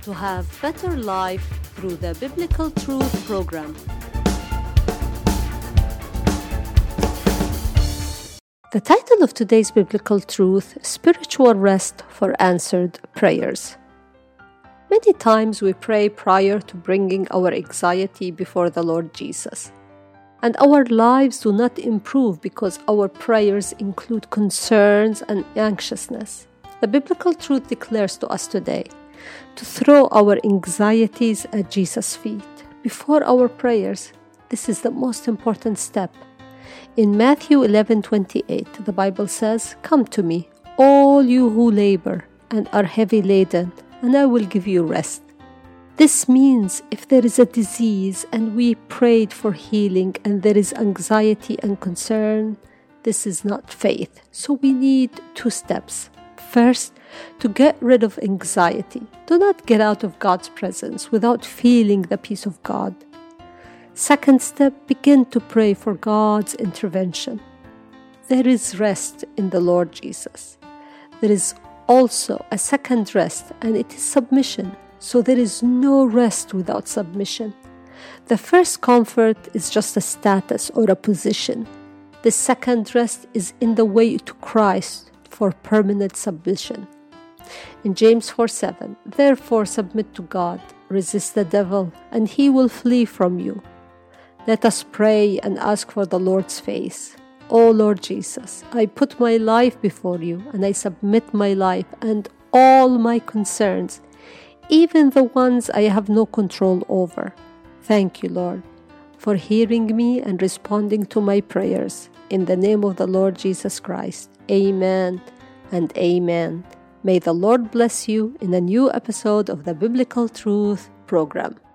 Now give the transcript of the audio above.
to have better life through the Biblical Truth program. The title of today's Biblical Truth, Spiritual Rest for Answered Prayers. Many times we pray prior to bringing our anxiety before the Lord Jesus. And our lives do not improve because our prayers include concerns and anxiousness. The Biblical Truth declares to us today to throw our anxieties at Jesus' feet. Before our prayers, this is the most important step. In Matthew 11:28, the Bible says, "Come to me, all you who labor and are heavy laden, and I will give you rest." This means if there is a disease and we prayed for healing and there is anxiety and concern, this is not faith. So we need two steps. First, to get rid of anxiety. Do not get out of God's presence without feeling the peace of God. Second step, begin to pray for God's intervention. There is rest in the Lord Jesus. There is also a second rest, and it is submission. So there is no rest without submission. The first comfort is just a status or a position. The second rest is in the way to Christ for permanent submission. In James 4:7, "Therefore submit to God, resist the devil, and he will flee from you." Let us pray and ask for the Lord's face. O Lord Jesus, I put my life before you, and I submit my life and all my concerns, even the ones I have no control over. Thank you, Lord, for hearing me and responding to my prayers. In the name of the Lord Jesus Christ, amen and amen. May the Lord bless you in a new episode of the Biblical Truth program.